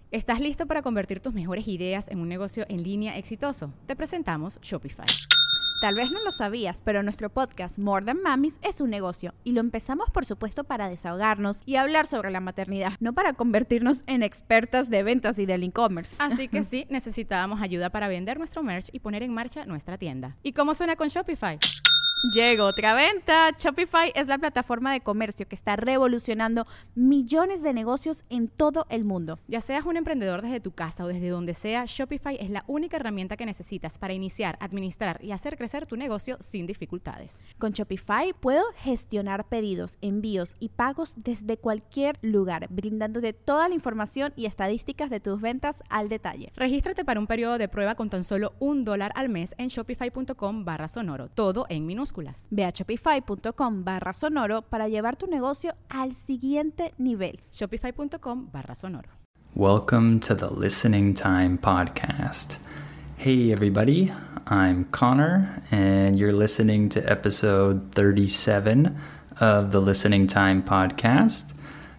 ¿Estás listo para convertir tus mejores ideas en un negocio en línea exitoso? Te presentamos Shopify. Tal vez no lo sabías, pero nuestro podcast More Than Mamis es un negocio y lo empezamos por supuesto para desahogarnos y hablar sobre la maternidad, no para convertirnos en expertas de ventas y del e-commerce. Así que sí, necesitábamos ayuda para vender nuestro merch y poner en marcha nuestra tienda. ¿Y cómo suena con Shopify? Llegó otra venta. Shopify es la plataforma de comercio que está revolucionando millones de negocios en todo el mundo. Ya seas un emprendedor desde tu casa o desde donde sea, Shopify es la única herramienta que necesitas para iniciar, administrar y hacer crecer tu negocio sin dificultades. Con Shopify puedo gestionar pedidos, envíos y pagos desde cualquier lugar, brindándote toda la información y estadísticas de tus ventas al detalle. Regístrate para un periodo de prueba con tan solo $1 al mes en shopify.com/sonoro, todo en minúsculas. Ve a shopify.com/sonoro para llevar tu negocio al siguiente nivel. Shopify.com/sonoro. Welcome to the Listening Time Podcast. Hey everybody, I'm Connor and you're listening to episode 37 of the Listening Time Podcast.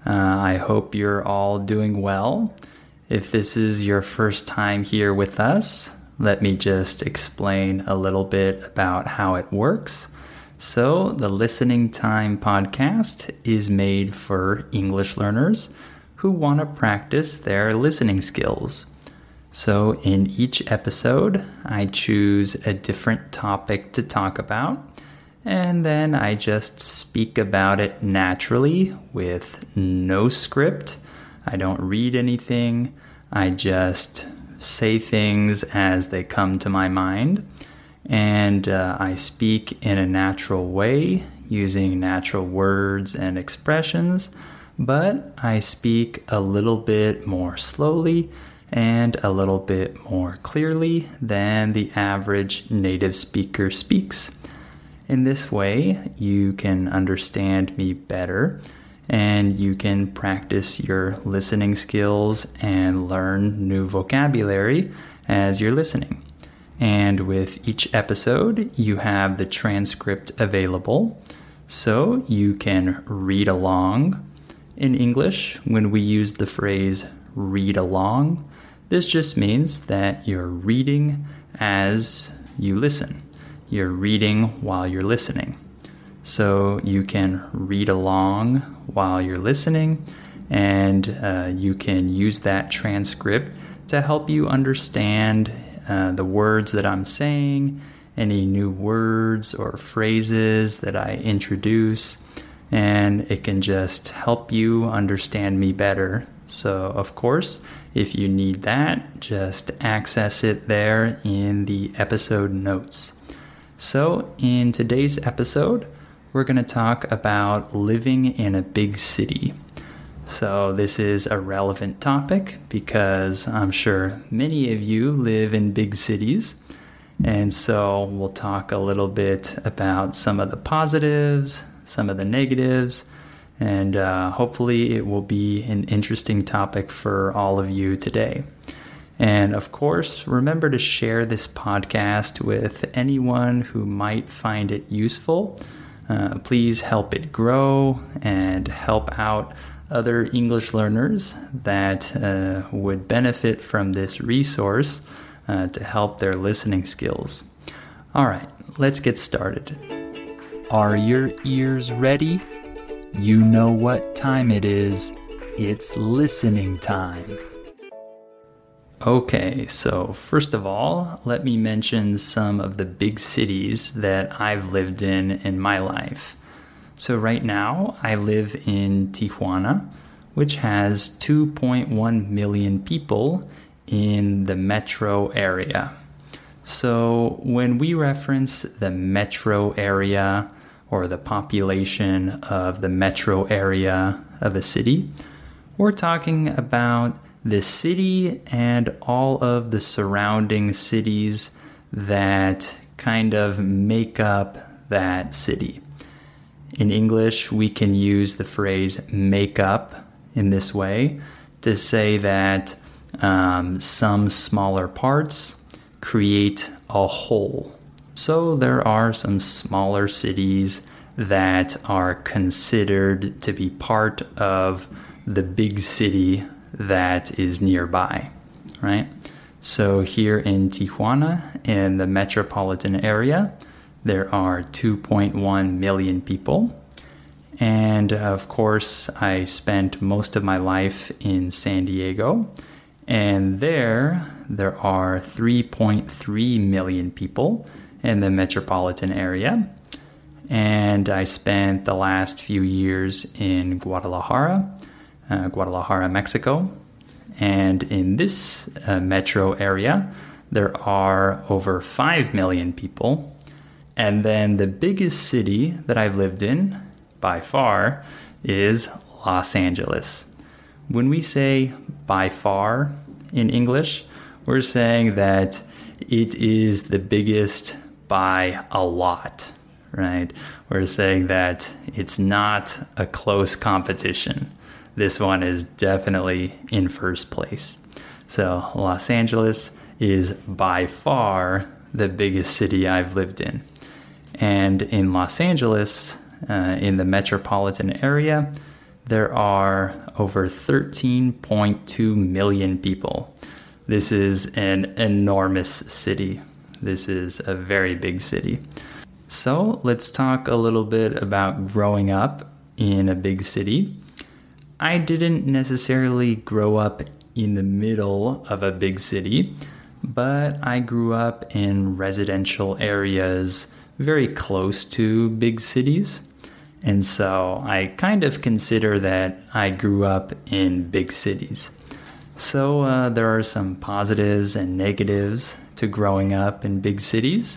I hope you're all doing well. If this is your first time here with us, let me just explain a little bit about how it works. So, the Listening Time Podcast is made for English learners who want to practice their listening skills. So, in each episode, I choose a different topic to talk about, and then I just speak about it naturally with no script. I don't read anything. I just say things as they come to my mind, and I speak in a natural way using natural words and expressions, but I speak a little bit more slowly and a little bit more clearly than the average native speaker speaks. In this way, you can understand me better and you can practice your listening skills and learn new vocabulary as you're listening. And with each episode, you have the transcript available, so you can read along. In English, when we use the phrase read along, this just means that you're reading as you listen. You're reading while you're listening. So you can read along while you're listening, and you can use that transcript to help you understand the words that I'm saying, any new words or phrases that I introduce, and it can just help you understand me better. So, of course, if you need that, just access it there in the episode notes. So, in today's episode, we're going to talk about living in a big city. So this is a relevant topic because I'm sure many of you live in big cities. And so we'll talk a little bit about some of the positives, some of the negatives, and hopefully it will be an interesting topic for all of you today. And of course, remember to share this podcast with anyone who might find it useful. Please help it grow and help out other English learners that would benefit from this resource to help their listening skills. All right, let's get started. Are your ears ready? You know what time it is. It's listening time. Okay, so first of all, let me mention some of the big cities that I've lived in my life. So right now, I live in Tijuana, which has 2.1 million people in the metro area. So when we reference the metro area or the population of the metro area of a city, we're talking about the city and all of the surrounding cities that kind of make up that city. In English, we can use the phrase make up in this way to say that some smaller parts create a whole. So there are some smaller cities that are considered to be part of the big city that is nearby, right? So here in Tijuana, in the metropolitan area, there are 2.1 million people. And of course, I spent most of my life in San Diego. And there are 3.3 million people in the metropolitan area. And I spent the last few years in Guadalajara, Mexico. And in this metro area, there are over 5 million people. And then the biggest city that I've lived in, by far, is Los Angeles. When we say by far in English, we're saying that it is the biggest by a lot, right? We're saying that it's not a close competition. This one is definitely in first place. So Los Angeles is by far the biggest city I've lived in. And in Los Angeles, in the metropolitan area, there are over 13.2 million people. This is an enormous city. This is a very big city. So let's talk a little bit about growing up in a big city. I didn't necessarily grow up in the middle of a big city, but I grew up in residential areas very close to big cities. And so I kind of consider that I grew up in big cities. So there are some positives and negatives to growing up in big cities.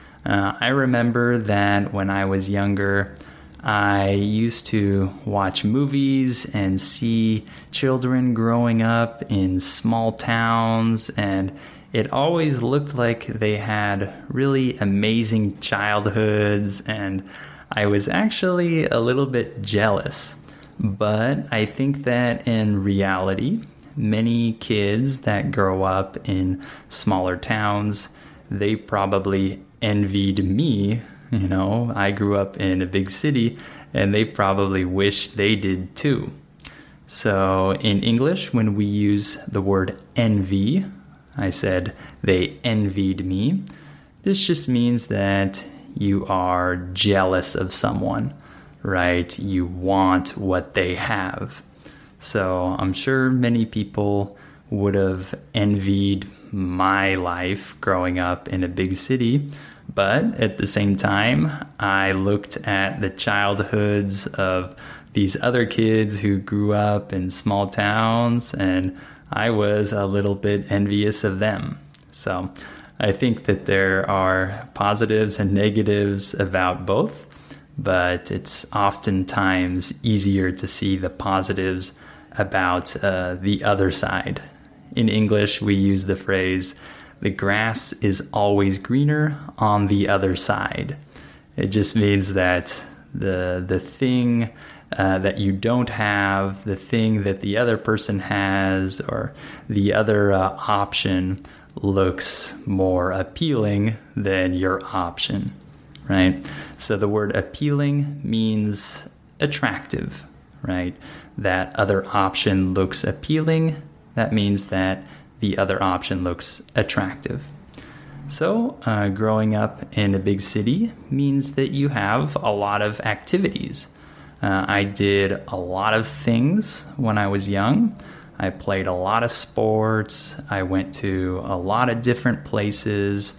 I remember that when I was younger, I used to watch movies and see children growing up in small towns, and it always looked like they had really amazing childhoods, and I was actually a little bit jealous. But I think that in reality, many kids that grow up in smaller towns, they probably envied me. You know, I grew up in a big city, and they probably wish they did too. So in English, when we use the word envy, I said they envied me. This just means that you are jealous of someone, right? You want what they have. So I'm sure many people would have envied my life growing up in a big city. But at the same time, I looked at the childhoods of these other kids who grew up in small towns, and I was a little bit envious of them. So I think that there are positives and negatives about both, but it's oftentimes easier to see the positives about the other side. In English, we use the phrase, the grass is always greener on the other side. It just means that the thing that you don't have, the thing that the other person has, or the other option looks more appealing than your option, right? So the word appealing means attractive, right? That other option looks appealing. That means that the other option looks attractive. So growing up in a big city means that you have a lot of activities. I did a lot of things when I was young. I played a lot of sports. I went to a lot of different places.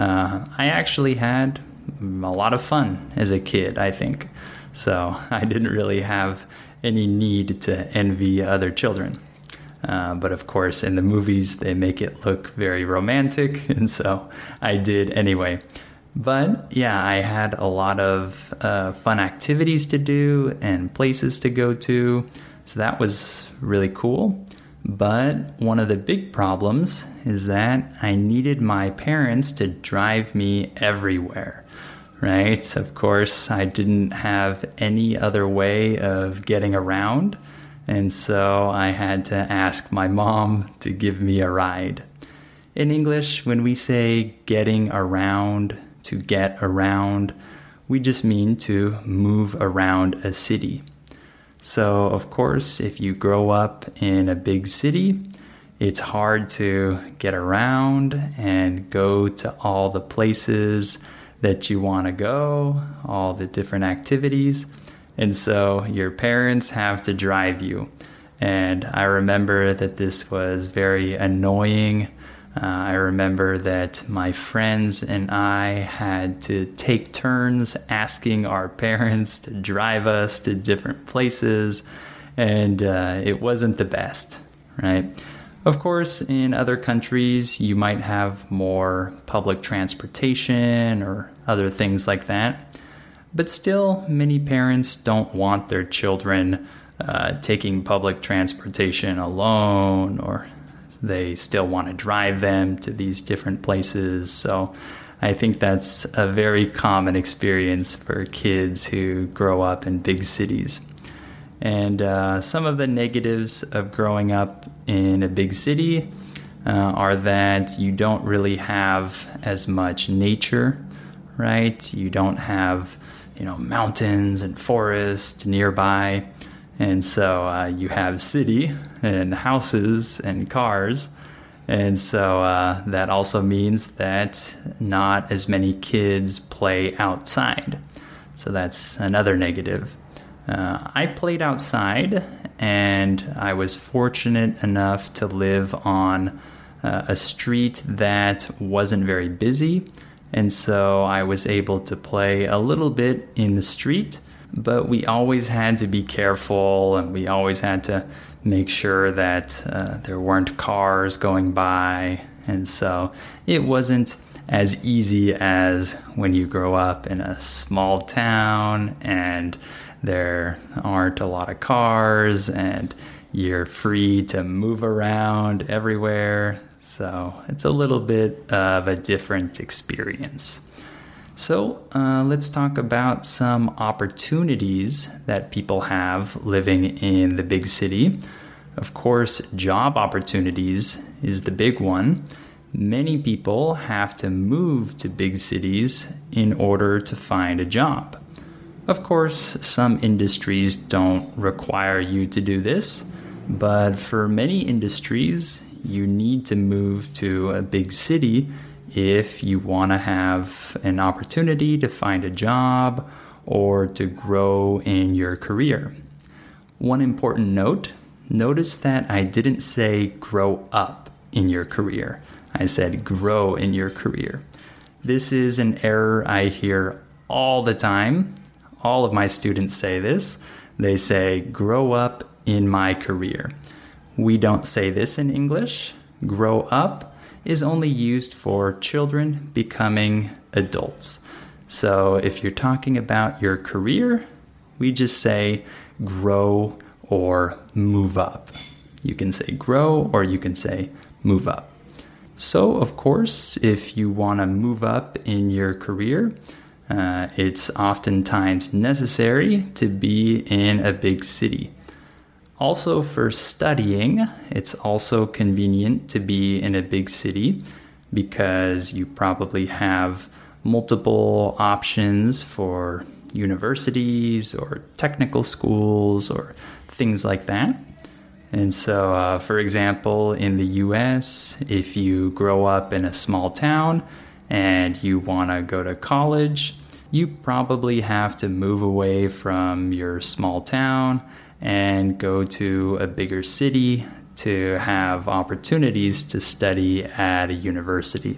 I actually had a lot of fun as a kid, I think. So I didn't really have any need to envy other children. But of course, in the movies, they make it look very romantic, and so I did anyway. But yeah, I had a lot of fun activities to do and places to go to, so that was really cool. But one of the big problems is that I needed my parents to drive me everywhere, right? Of course, I didn't have any other way of getting around. And so I had to ask my mom to give me a ride. In English, when we say getting around, to get around, we just mean to move around a city. So, of course, if you grow up in a big city, it's hard to get around and go to all the places that you want to go, all the different activities. And so your parents have to drive you. And I remember that this was very annoying. I remember that my friends and I had to take turns asking our parents to drive us to different places, and it wasn't the best, right? Of course, in other countries, you might have more public transportation or other things like that, but still, many parents don't want their children taking public transportation alone, or they still want to drive them to these different places. So I think that's a very common experience for kids who grow up in big cities. And some of the negatives of growing up in a big city are that you don't really have as much nature, right? You don't have, mountains and forests nearby. And so you have city and houses and cars. And so that also means that not as many kids play outside. So that's another negative. I played outside, and I was fortunate enough to live on a street that wasn't very busy. And so I was able to play a little bit in the street. But we always had to be careful, and we always had to make sure that there weren't cars going by. And so it wasn't as easy as when you grow up in a small town and there aren't a lot of cars and you're free to move around everywhere. So it's a little bit of a different experience. So let's talk about some opportunities that people have living in the big city. Of course, job opportunities is the big one. Many people have to move to big cities in order to find a job. Of course, some industries don't require you to do this, but for many industries, you need to move to a big city if you want to have an opportunity to find a job or to grow in your career. One important note, notice that I didn't say grow up in your career. I said grow in your career. This is an error I hear all the time. All of my students say this. They say grow up in my career. We don't say this in English. Grow up is only used for children becoming adults. So if you're talking about your career, we just say grow or move up. You can say grow or you can say move up. So, of course, if you want to move up in your career, it's oftentimes necessary to be in a big city. Also, for studying, it's also convenient to be in a big city because you probably have multiple options for universities or technical schools or things like that. And so, for example, in the US, if you grow up in a small town and you want to go to college, you probably have to move away from your small town and go to a bigger city to have opportunities to study at a university.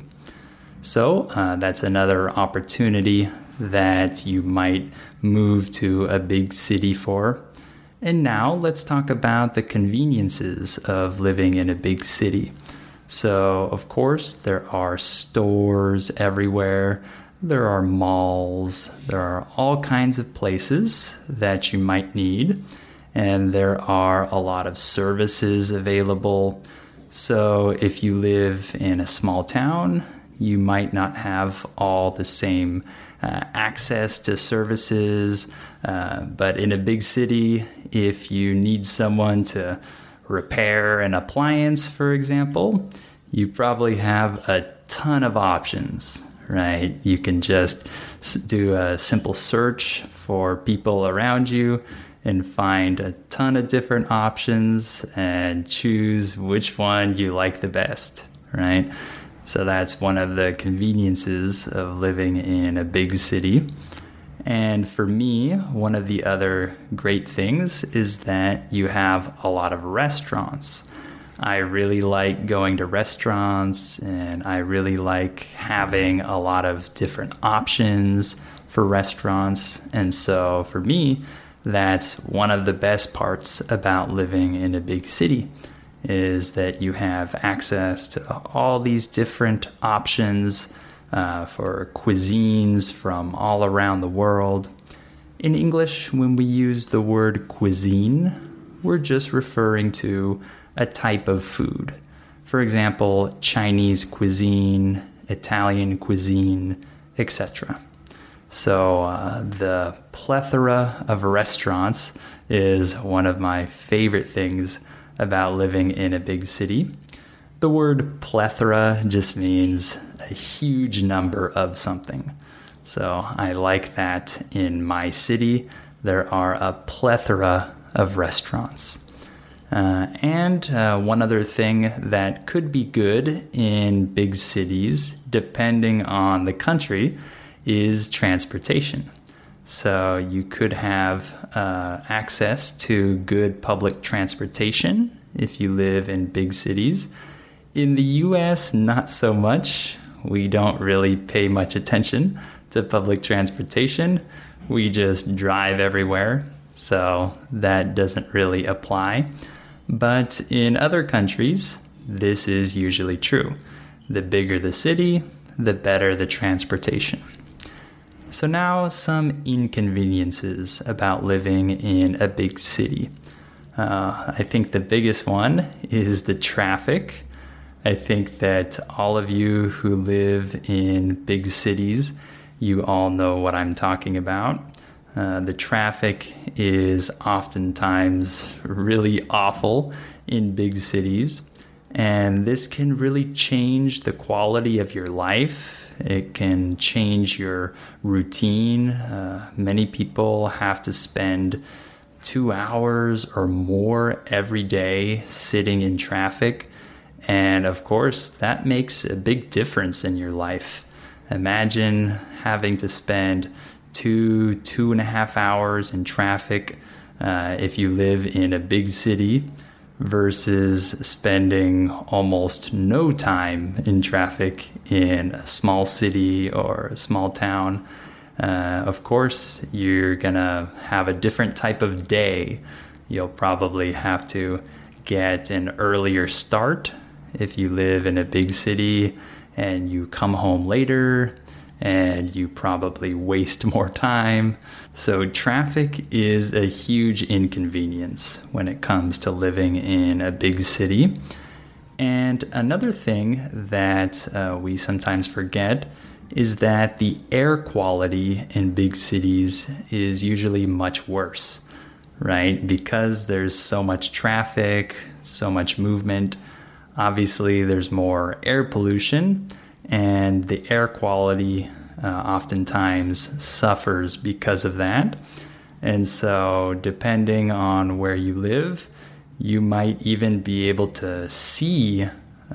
So that's another opportunity that you might move to a big city for. And now let's talk about the conveniences of living in a big city. So, of course, there are stores everywhere. There are malls. There are all kinds of places that you might need. And there are a lot of services available. So if you live in a small town, you might not have all the same access to services. But in a big city, if you need someone to repair an appliance, for example, you probably have a ton of options, right? You can just do a simple search for people around you, and find a ton of different options and choose which one you like the best, right? So that's one of the conveniences of living in a big city. And for me, one of the other great things is that you have a lot of restaurants. I really like going to restaurants, and I really like having a lot of different options for restaurants. And so for me, that's one of the best parts about living in a big city, is that you have access to all these different options for cuisines from all around the world. In English, when we use the word cuisine, we're just referring to a type of food. For example, Chinese cuisine, Italian cuisine, etc. So the plethora of restaurants is one of my favorite things about living in a big city. The word plethora just means a huge number of something. So I like that in my city, there are a plethora of restaurants. And one other thing that could be good in big cities, depending on the country, is transportation. So you could have access to good public transportation if you live in big cities. In the US, not so much. We don't really pay much attention to public transportation. We just drive everywhere, so that doesn't really apply. But in other countries, this is usually true. The bigger the city, the better the transportation. So now some inconveniences about living in a big city. I think the biggest one is the traffic. I think that all of you who live in big cities, you all know what I'm talking about. The traffic is oftentimes really awful in big cities, and this can really change the quality of your life. It can change your routine. Many people have to spend 2 hours or more every day sitting in traffic. And of course, that makes a big difference in your life. Imagine having to spend 2.5 hours in traffic if you live in a big city versus spending almost no time in traffic in a small city or a small town. Of course, you're gonna have a different type of day. You'll probably have to get an earlier start if you live in a big city and you come home later, and you probably waste more time. So traffic is a huge inconvenience when it comes to living in a big city. And another thing that we sometimes forget is that the air quality in big cities is usually much worse, right? Because there's so much traffic, so much movement. Obviously, there's more air pollution, and the air quality oftentimes suffers because of that. And so depending on where you live, you might even be able to see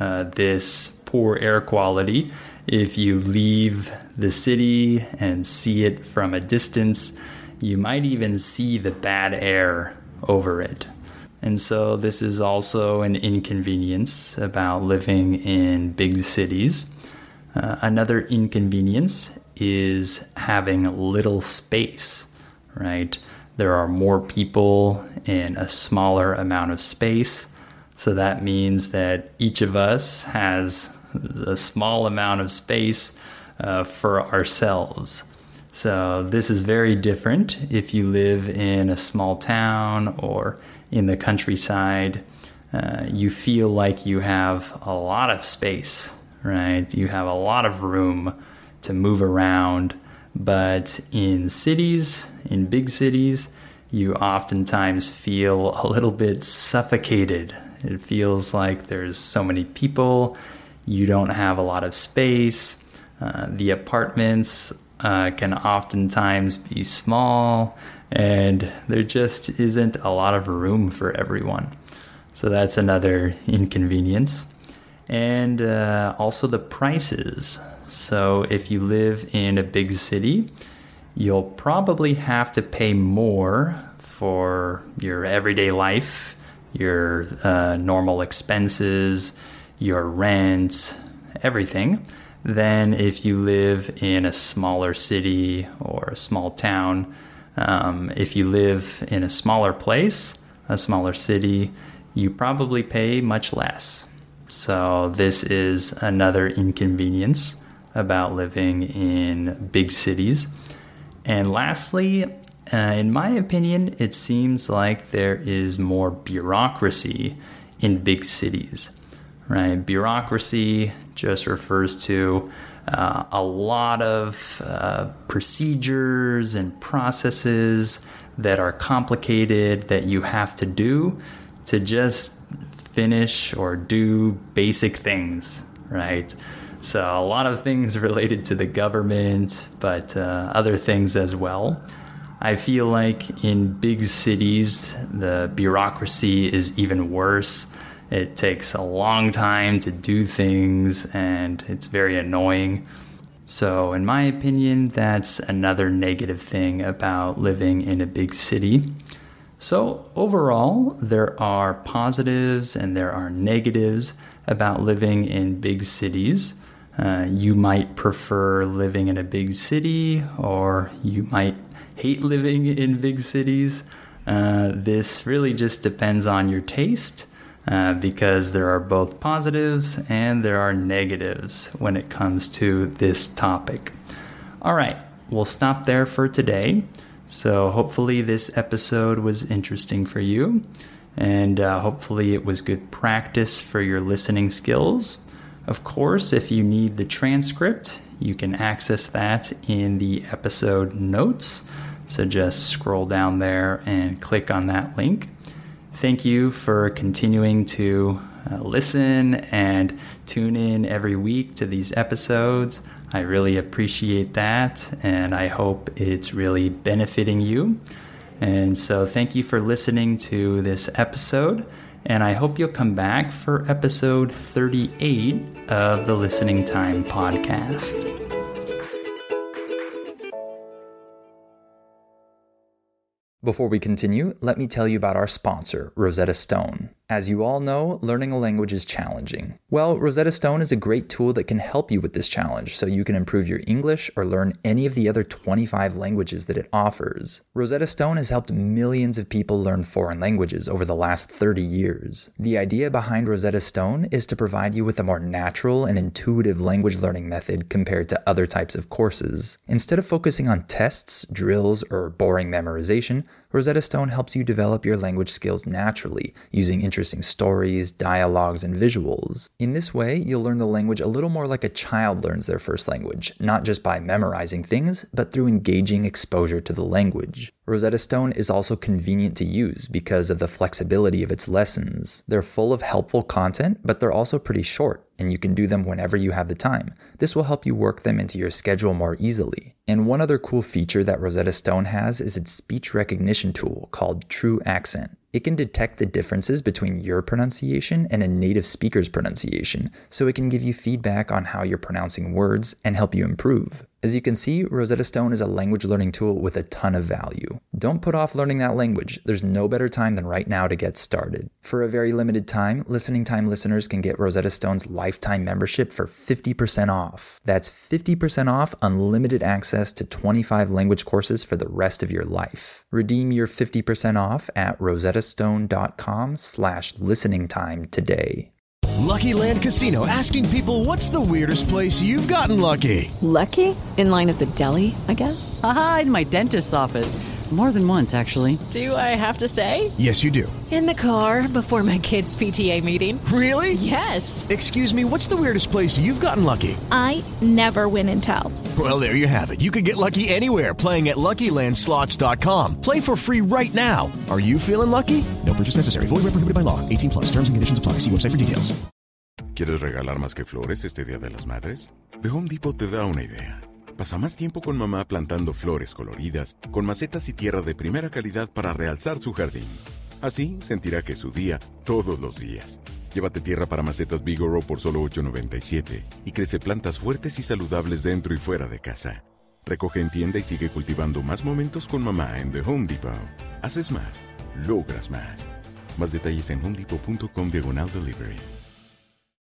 this poor air quality if you leave the city and see it from a distance. You might even see the bad air over it. And so this is also an inconvenience about living in big cities. Another inconvenience is having little space, right? There are more people in a smaller amount of space. So that means that each of us has a small amount of space for ourselves. So this is very different if you live in a small town or in the countryside. You feel like you have a lot of space, right? You have a lot of room to move around. But in cities, in big cities, you oftentimes feel a little bit suffocated. It feels like there's so many people. You don't have a lot of space. The apartments can oftentimes be small. and there just isn't a lot of room for everyone. So that's another inconvenience. And also the prices. So if you live in a big city, you'll probably have to pay more for your everyday life, your normal expenses, your rent, everything, than if you live in a smaller city or a small town. If you live in a smaller place, a smaller city, you probably pay much less. So this is another inconvenience about living in big cities. And lastly, in my opinion, it seems like there is more bureaucracy in big cities, right? Bureaucracy just refers to a lot of procedures and processes that are complicated that you have to do to just finish or do basic things, right? So a lot of things related to the government, but other things as well. I feel like in big cities, the bureaucracy is even worse. It takes a long time to do things, and it's very annoying. So in my opinion, that's another negative thing about living in a big city. So overall, there are positives and there are negatives about living in big cities. You might prefer living in a big city, or you might hate living in big cities. This really just depends on your taste, because there are both positives and there are negatives when it comes to this topic. All right, we'll stop there for today. So hopefully this episode was interesting for you, and hopefully it was good practice for your listening skills. Of course, if you need the transcript, you can access that in the episode notes. So just scroll down there and click on that link. Thank you for continuing to listen and tune in every week to these episodes. I really appreciate that, and I hope it's really benefiting you. And so thank you for listening to this episode, and I hope you'll come back for episode 38 of the Listening Time podcast. Before we continue, let me tell you about our sponsor, Rosetta Stone. As you all know, learning a language is challenging. Well, Rosetta Stone is a great tool that can help you with this challenge so you can improve your English or learn any of the other 25 languages that it offers. Rosetta Stone has helped millions of people learn foreign languages over the last 30 years. The idea behind Rosetta Stone is to provide you with a more natural and intuitive language learning method compared to other types of courses. Instead of focusing on tests, drills, or boring memorization, Rosetta Stone helps you develop your language skills naturally, using interesting stories, dialogues, and visuals. In this way, you'll learn the language a little more like a child learns their first language, not just by memorizing things, but through engaging exposure to the language. Rosetta Stone is also convenient to use because of the flexibility of its lessons. They're full of helpful content, but they're also pretty short, and you can do them whenever you have the time. This will help you work them into your schedule more easily. And one other cool feature that Rosetta Stone has is its speech recognition tool called True Accent. It can detect the differences between your pronunciation and a native speaker's pronunciation, so it can give you feedback on how you're pronouncing words and help you improve. As you can see, Rosetta Stone is a language learning tool with a ton of value. Don't put off learning that language. There's no better time than right now to get started. For a very limited time, Listening Time listeners can get Rosetta Stone's lifetime membership for 50% off. That's 50% off unlimited access to 25 language courses for the rest of your life. Redeem your 50% off at rosettastone.com/listeningtime today. Lucky Land Casino, asking people, what's the weirdest place you've gotten lucky? Lucky? In line at the deli, I guess? Aha, in my dentist's office. More than once, actually. Do I have to say? Yes, you do. In the car before my kids' PTA meeting. Really? Yes. Excuse me, what's the weirdest place you've gotten lucky? I never win and tell. Well, there you have it. You can get lucky anywhere, playing at LuckyLandSlots.com. Play for free right now. Are you feeling lucky? No purchase necessary. Void where prohibited by law. 18+. Terms and conditions apply. See website for details. ¿Quieres regalar más que flores este Día de las Madres? The Home Depot te da una idea. Pasa más tiempo con mamá plantando flores coloridas, con macetas y tierra de primera calidad para realzar su jardín. Así sentirá que es su día todos los días. Llévate tierra para macetas Vigoro por solo $8.97 y crece plantas fuertes y saludables dentro y fuera de casa. Recoge en tienda y sigue cultivando más momentos con mamá en The Home Depot. Haces más, logras más. Más detalles en homedepot.com/delivery.